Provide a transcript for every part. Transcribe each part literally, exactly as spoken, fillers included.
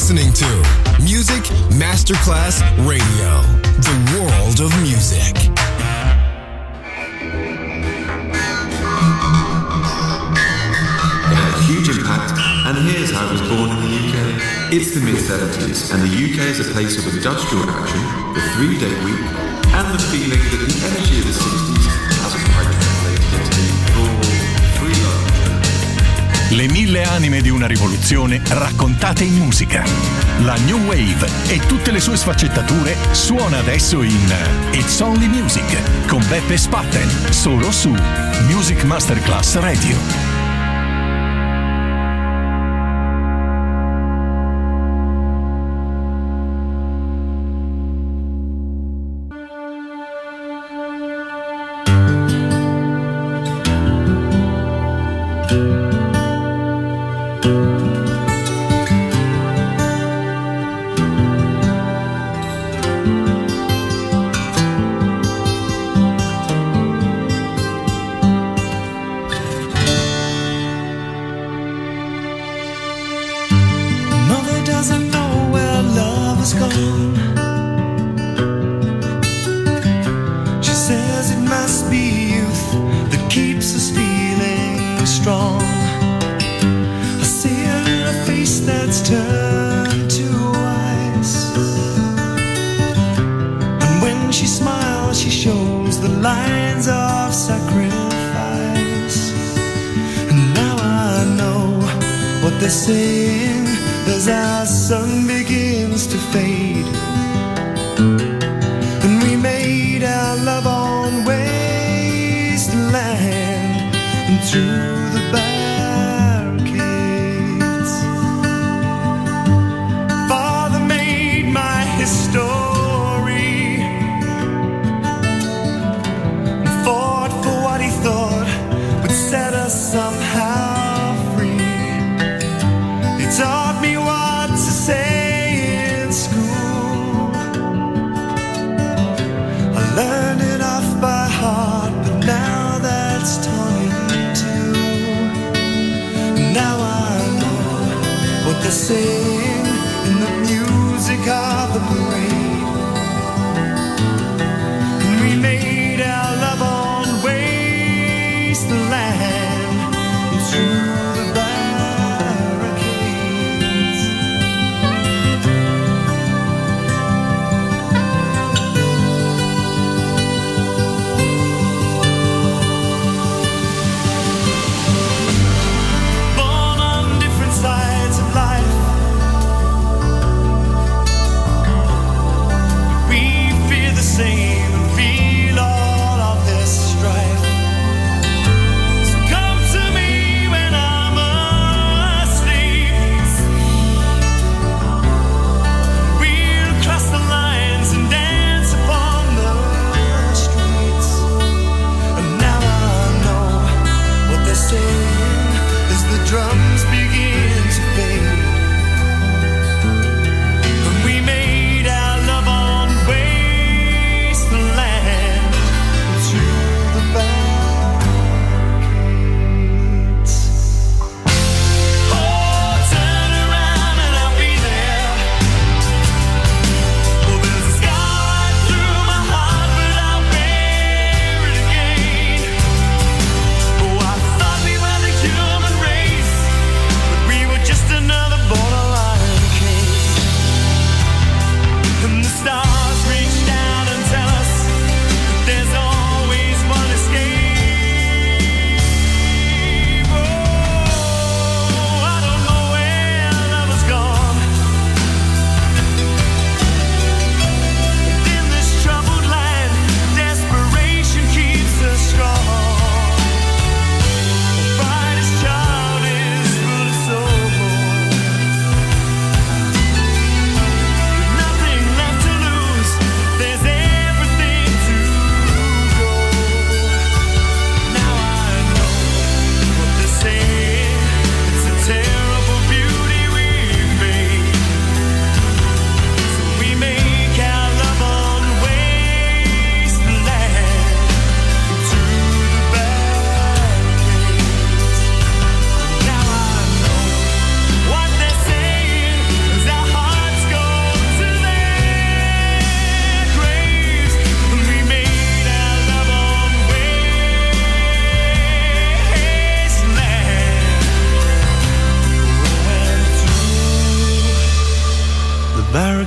listening to Music Masterclass Radio, the world of music. It had a huge impact, and here's how it was born in the U K. It's the mid seventies, and the U K is a place of industrial action, the three-day week, and the feeling that the energy of the sixties hasn't quite translated into the full free love. Le mille anime di una rivoluzione raccontate in musica. La New Wave e tutte le sue sfaccettature suona adesso in It's Only Music con Beppe Spatten, solo su Music Masterclass Radio.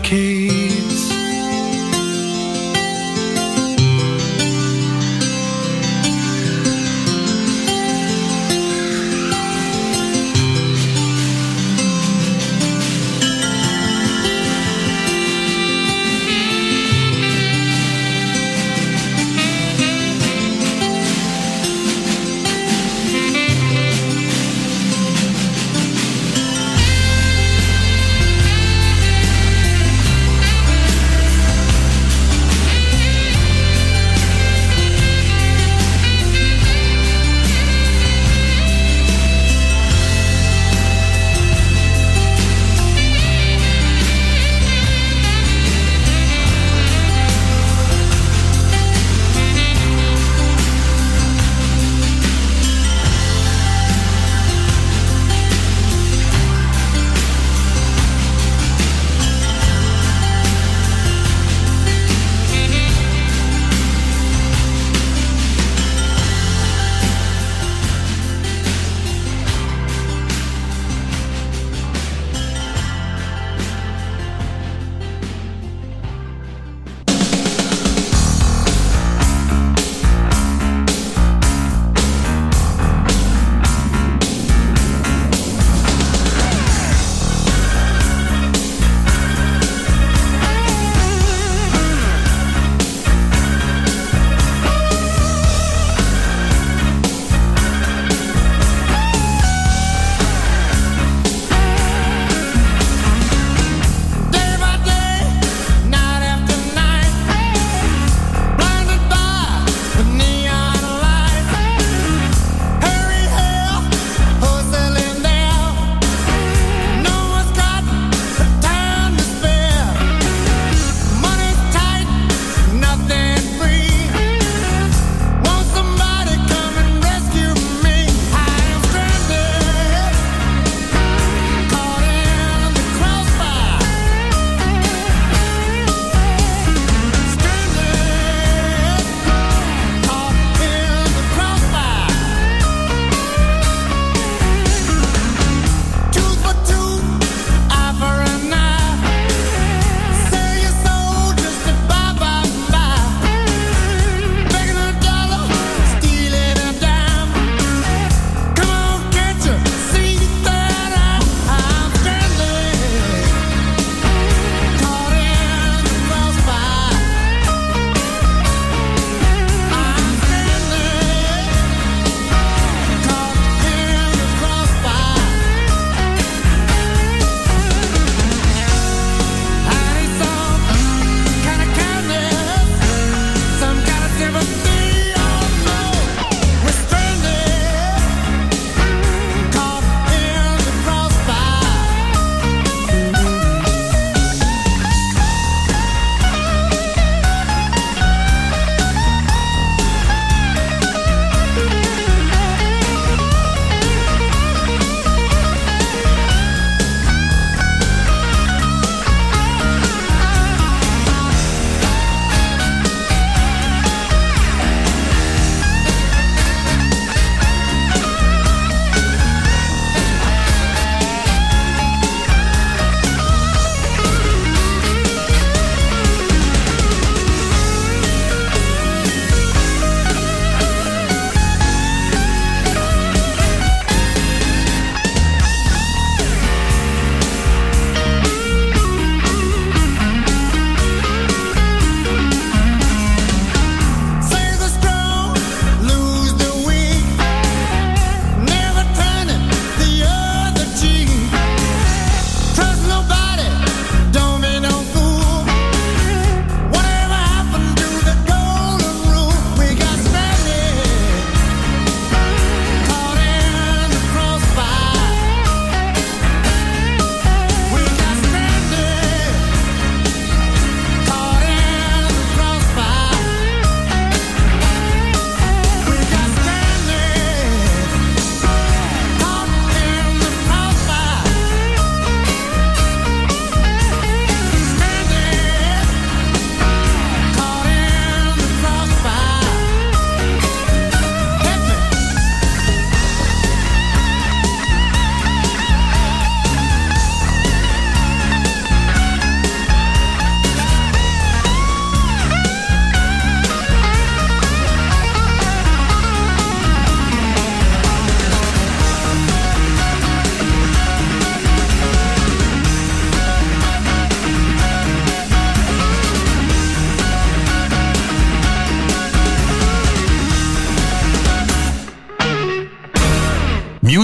decades.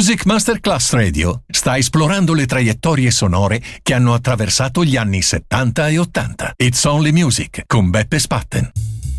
Music Masterclass Radio sta esplorando le traiettorie sonore che hanno attraversato gli anni settanta e ottanta. It's Only Music con Beppe Spatten.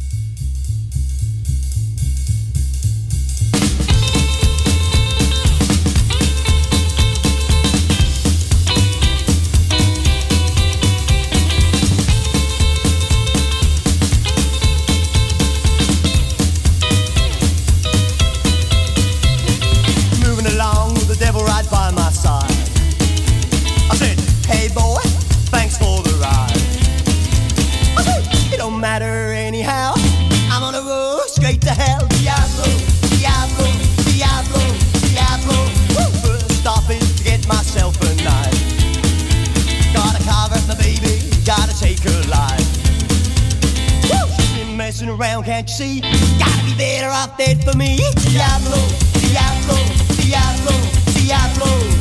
Matter anyhow, I'm on a road straight to hell. Diablo, Diablo, Diablo, Diablo. Woo! First stop is to get myself a knife. Gotta carve up my baby, gotta take her life. Woo! She's been messing around, can't you see? Gotta be better off dead for me. Diablo, Diablo, Diablo, Diablo.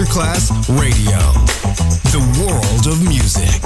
Masterclass Radio, the world of music.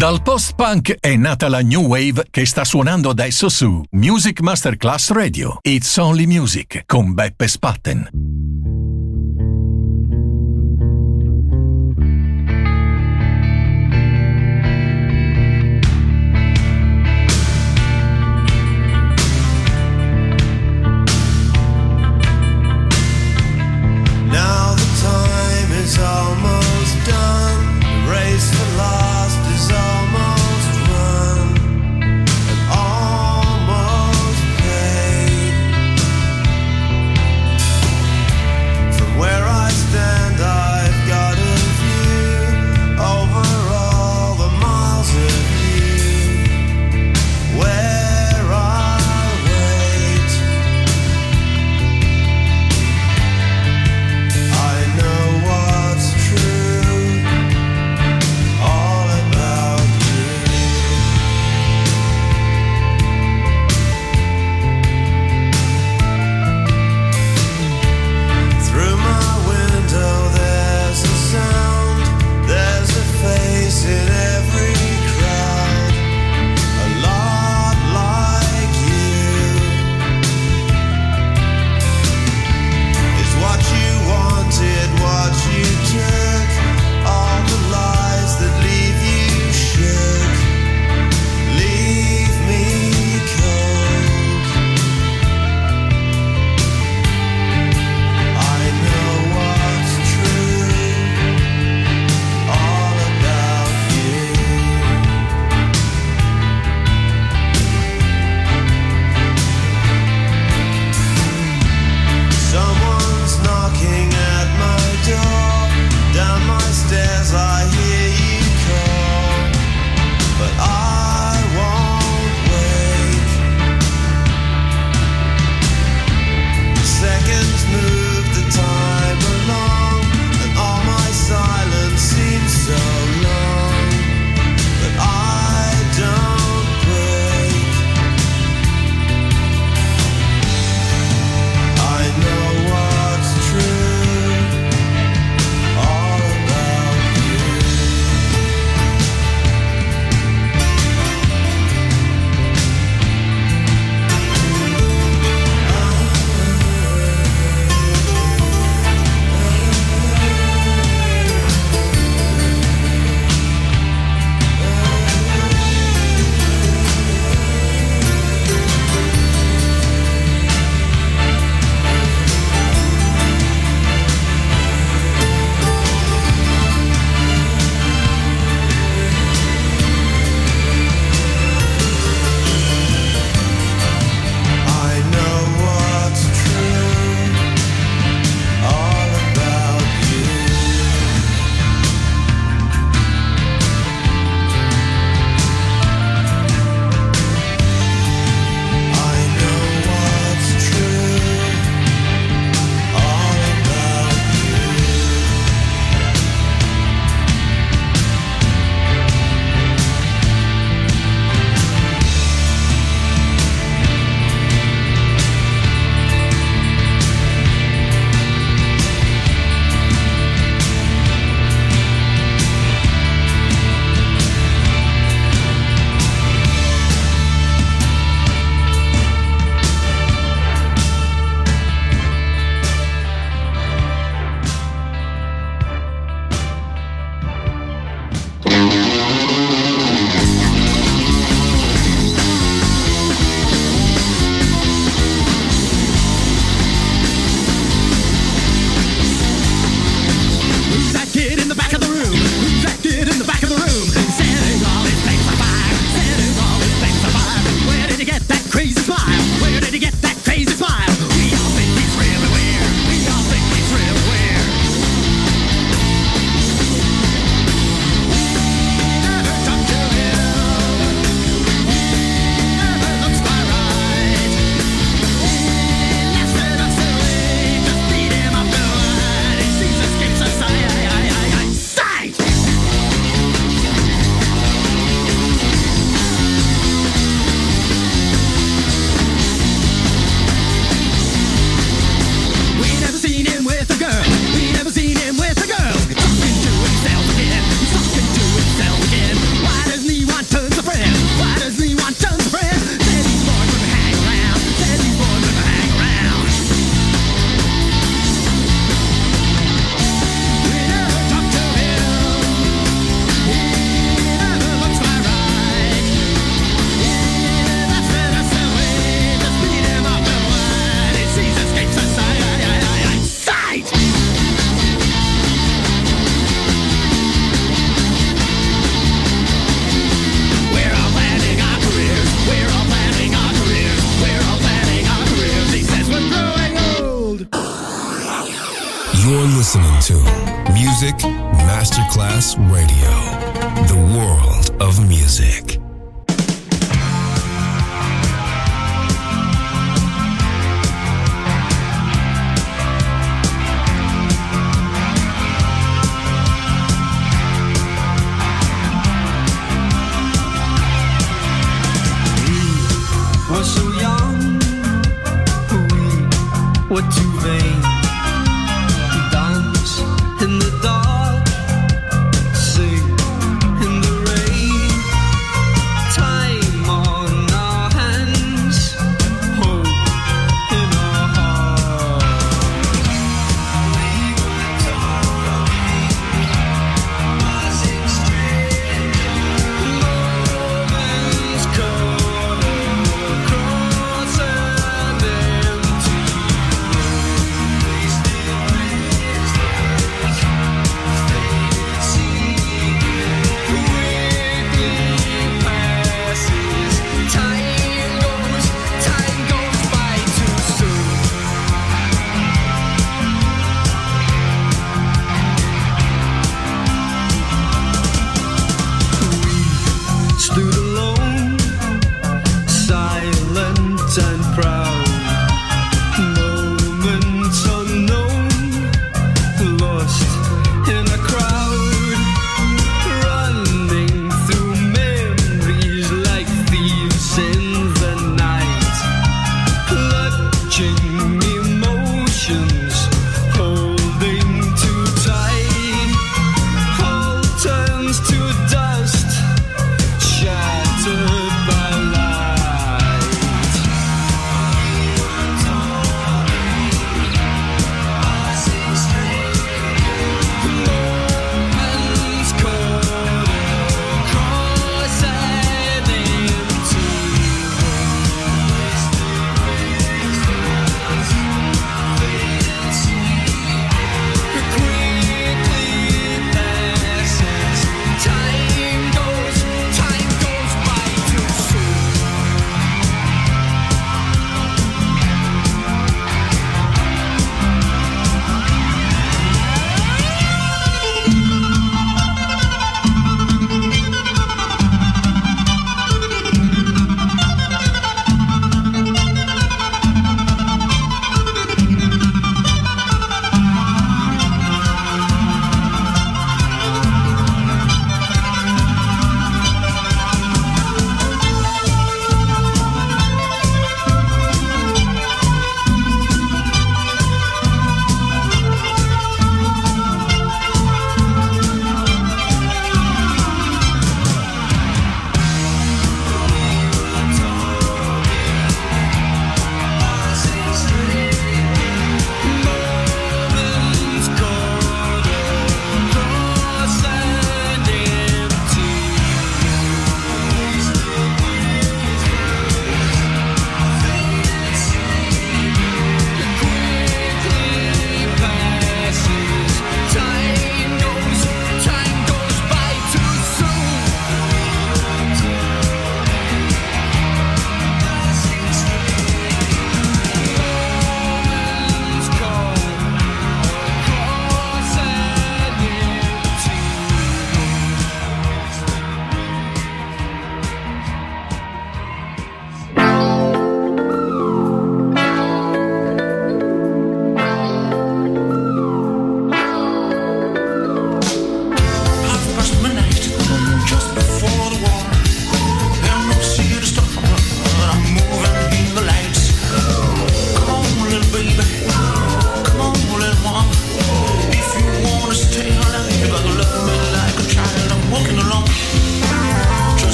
Dal post-punk è nata la New Wave che sta suonando adesso su Music Masterclass Radio. It's Only Music con Beppe Spatten. Now the time is almost done. The race for lost is almost run and almost paid. listening to Music Masterclass Radio, the world of music. We're so young, we were too vain. Dance in the dark, sing in the rain. Time on our hands, hope in our hearts. We were torn, passing straight. Moments caught across an empty road.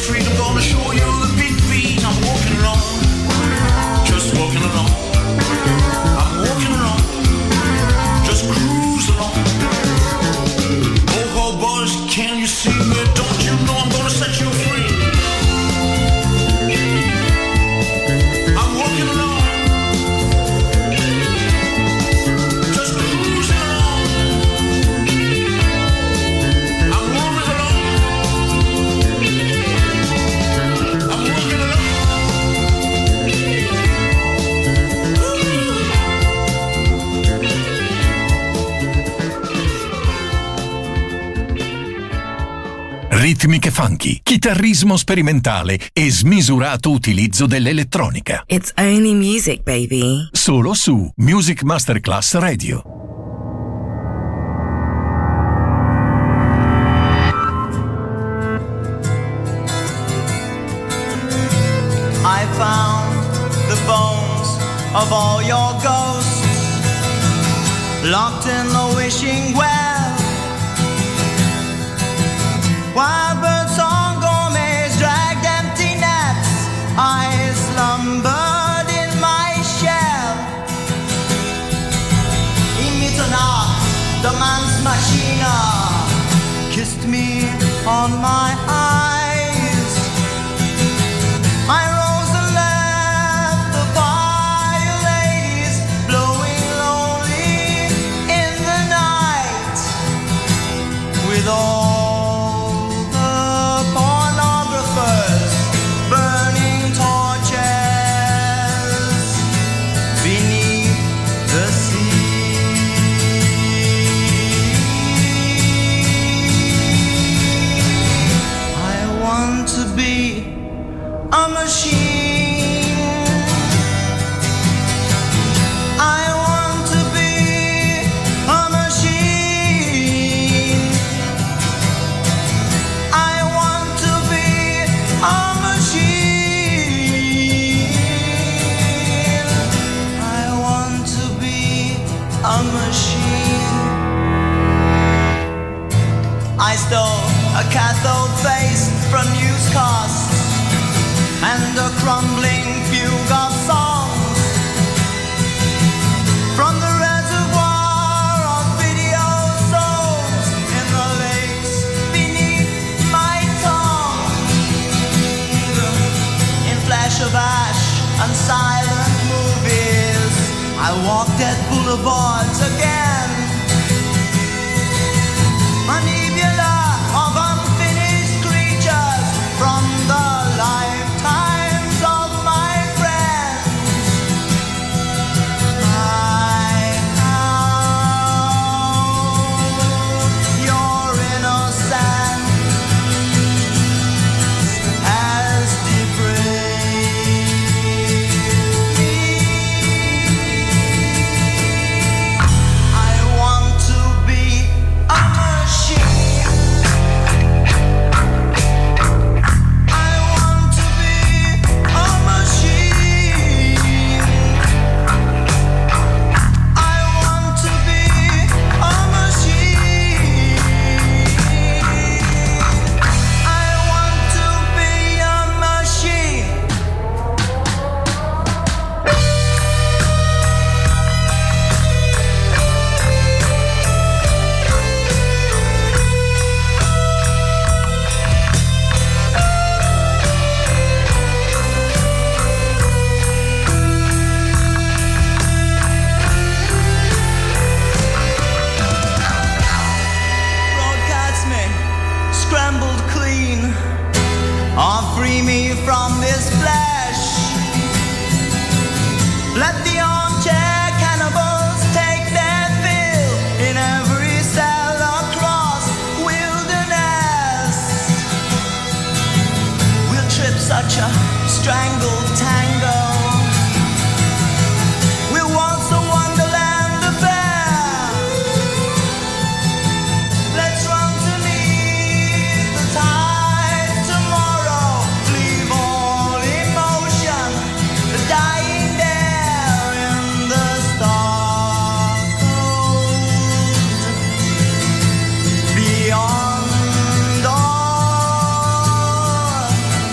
street, I'm gonna show you the big beat. I'm walking along, just walking along. I'm walking along, just cruise along. Oh, oh, boys, can you see me? Don't you know I'm gonna set you free? I'm walking along, just cruising along. I'm moving along, I'm walking along. Ritmiche funky, chitarrismo sperimentale e smisurato utilizzo dell'elettronica. It's only music, baby. Solo su Music Masterclass Radio. I found the bones of all your ghosts locked in the wishing well. Wild bird song gourmets dragged empty nets. I slumbered in my shell. In Mitternacht, the man's machina kissed me on my eyes. I rose and left the fire ladies blowing lonely in the night with all a machine. I want to be a machine. I want to be a machine. I want to be a machine. I stole a cathode face from newscasts and a crumbling fugue of songs from the reservoir of video souls in the lakes beneath my tongue. In flash of ash and silent movies, I walked at boulevards again. A nebula of unfinished creatures from the lifetimes of my friends. I know your innocence has depraved me. I want to be a machine. I want to be a machine. I want to be a machine. I want to be a machine. Broadcast me, scrambled clean, or free me from this flesh. Let the armchair cannibals take their fill in every cell across wilderness. We'll trip such a strangled tango. We'll waltz a wonderland affair. Let's run to meet the tide tomorrow. Leave all emotion dying there in the star cold. Beyond all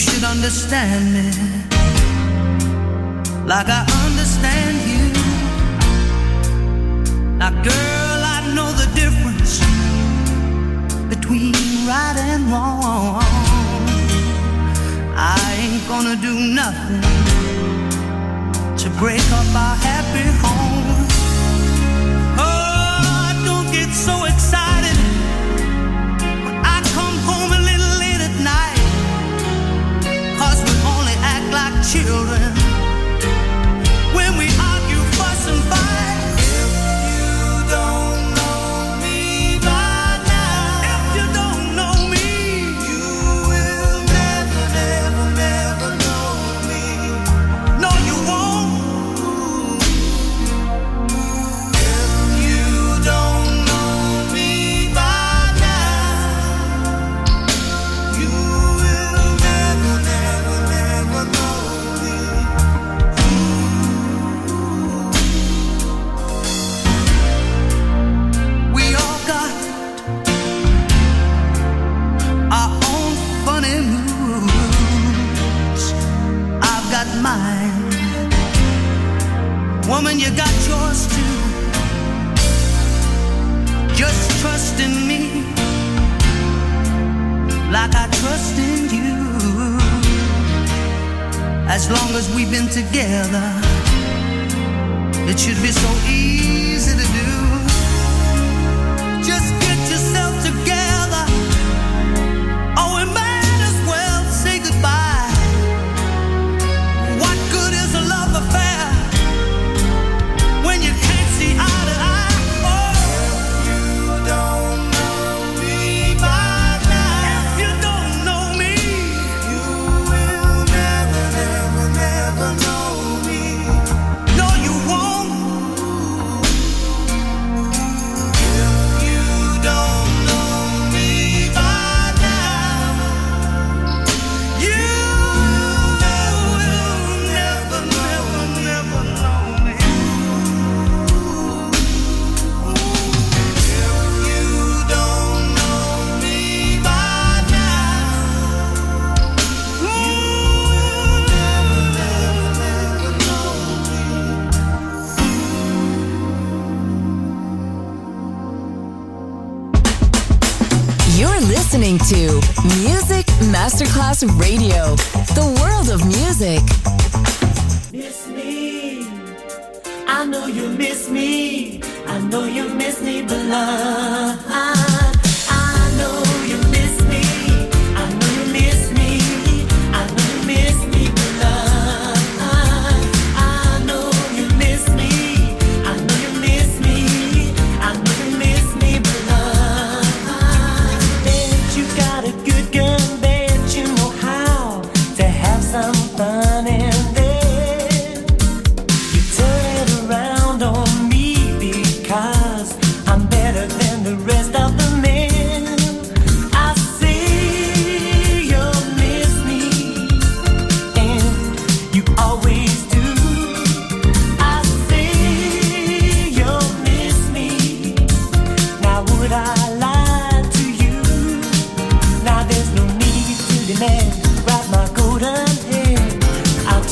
should understand me like I understand you. Now girl, I know the difference between right and wrong. I ain't gonna do nothing to break up our happy home. Oh, don't get so excited when I come home a little late at night, 'cause we only act like children when we argue, fuss and fight. Woman, you got yours too. Just trust in me like I trust in you. As long as we've been together, it should be so easy to do. Just get yourself together, or we might as well say goodbye. What good is a love affair when you can't see eye to eye? Oh, if you don't know me by now, if you don't know me, you will never, never, never know me. No, you won't. If you don't know me by now, you will never, never, never know me. You're listening to Music Masterclass Radio, the world of music. Miss me, I know you miss me, I know you miss me, beloved. I know you miss me, I know you miss me, I know you miss me, beloved. I know you miss me, I know you miss me, I know you miss me, beloved. Bet you got a good gun, bet you know how to have some fun in there. You turn it around on me because I'm better than the rest of the men. I see you miss me, and you always do. I see you miss me. Now would I lie to you? Now there's no need to demand. Grab my golden hair, I'll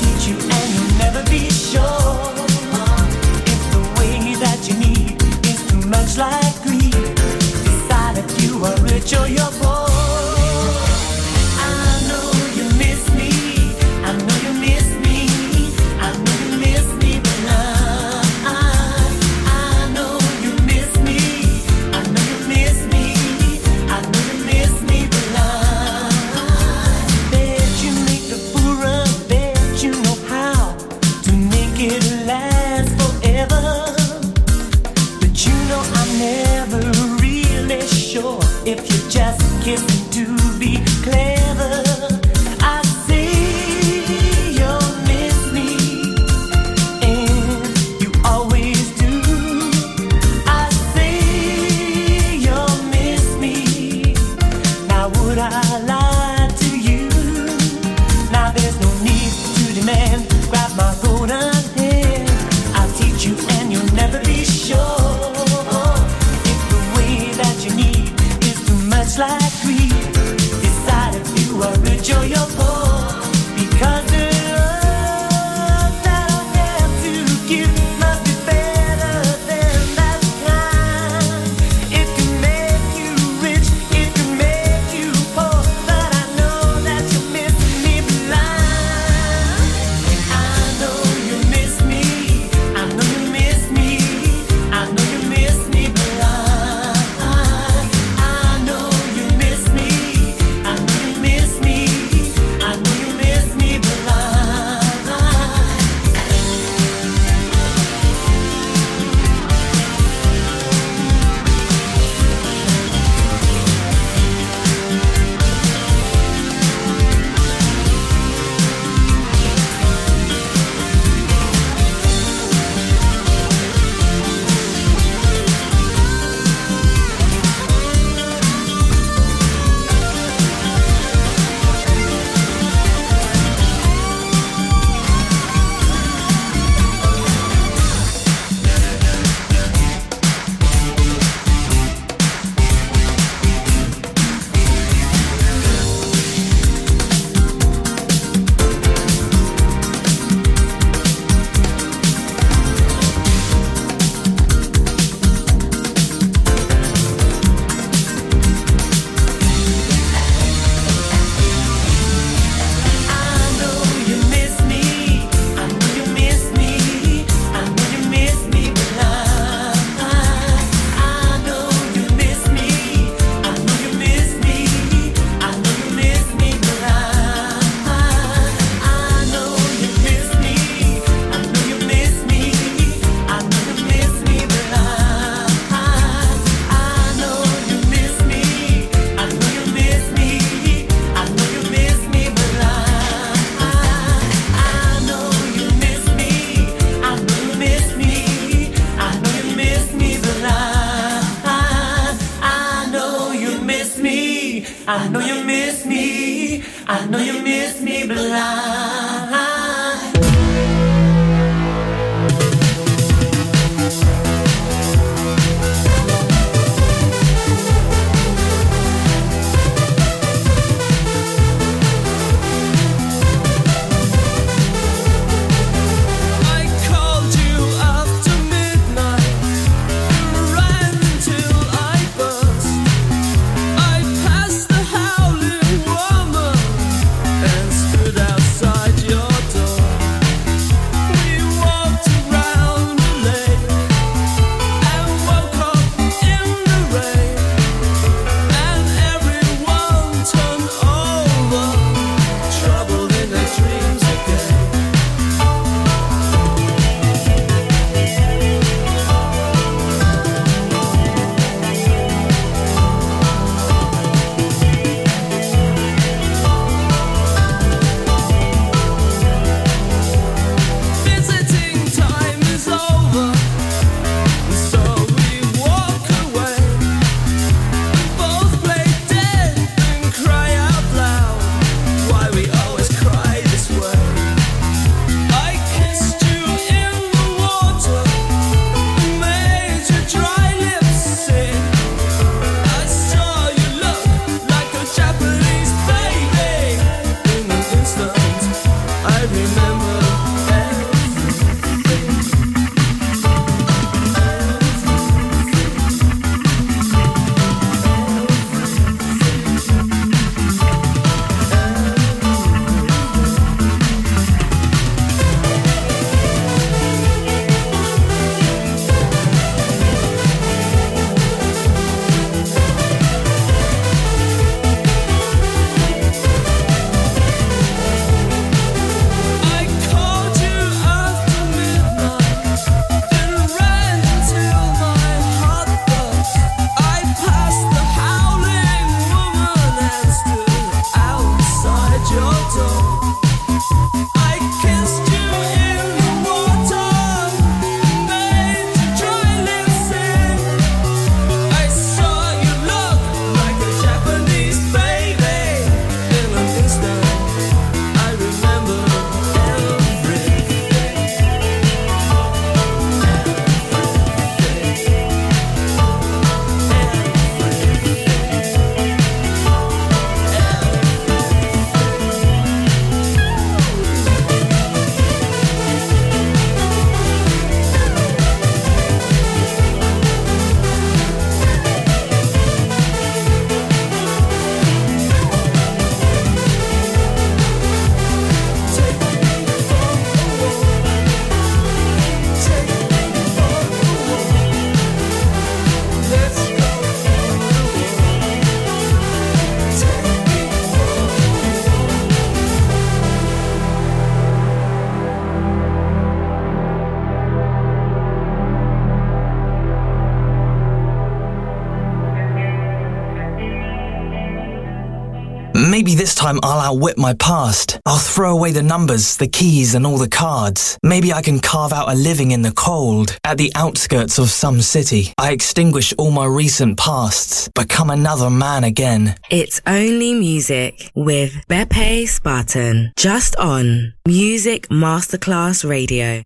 Maybe this time I'll outwit my past. I'll throw away the numbers, the keys and all the cards. Maybe I can carve out a living in the cold, at the outskirts of some city. I extinguish all my recent pasts, become another man again. It's Only Music with Beppe Spartan, just on Music Masterclass Radio.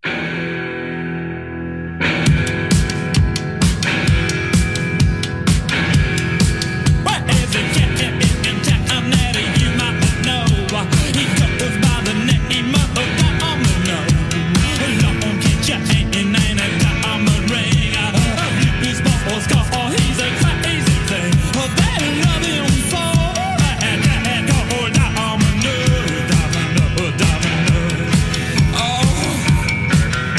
Oh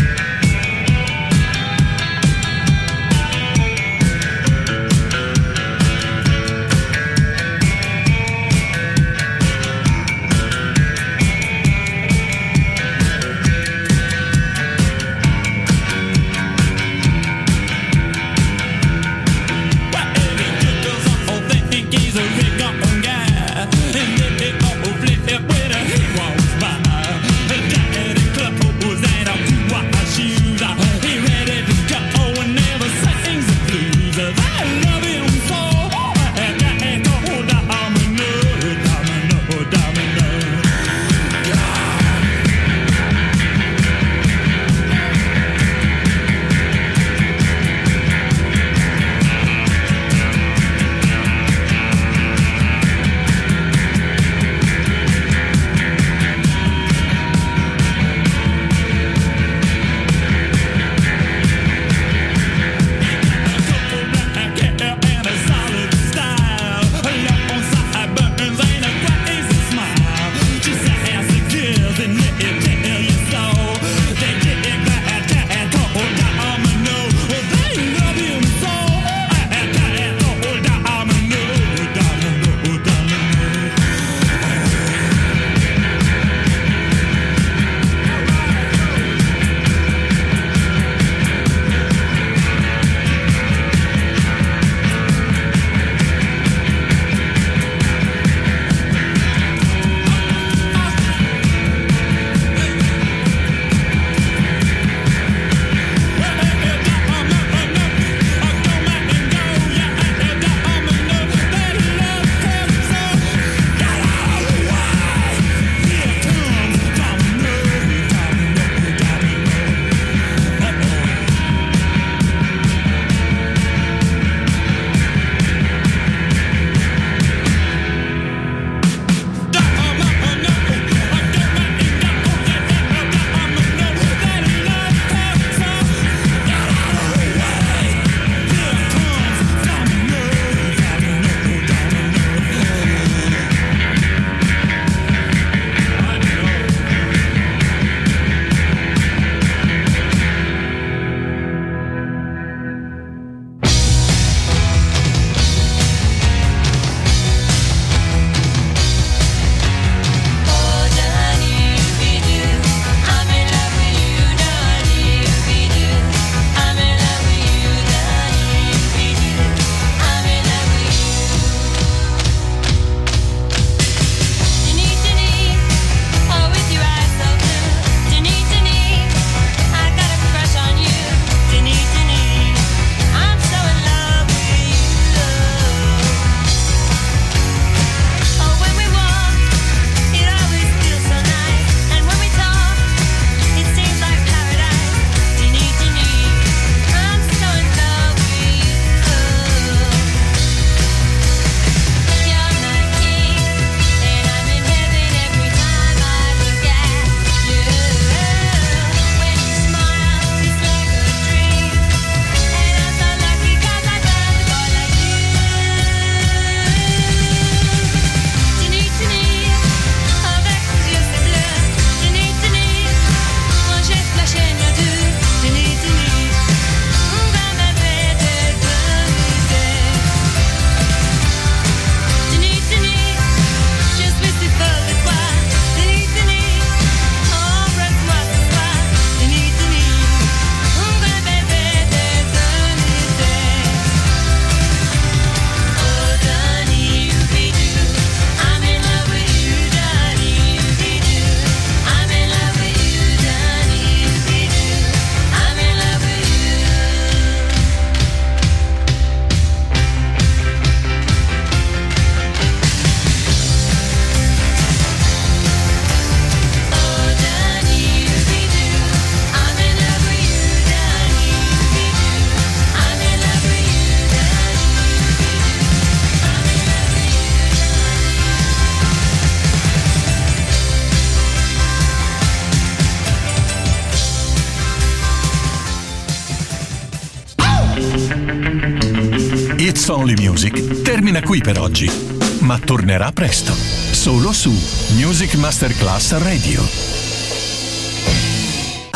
It's Only Music termina qui per oggi, ma tornerà presto, solo su Music Masterclass Radio.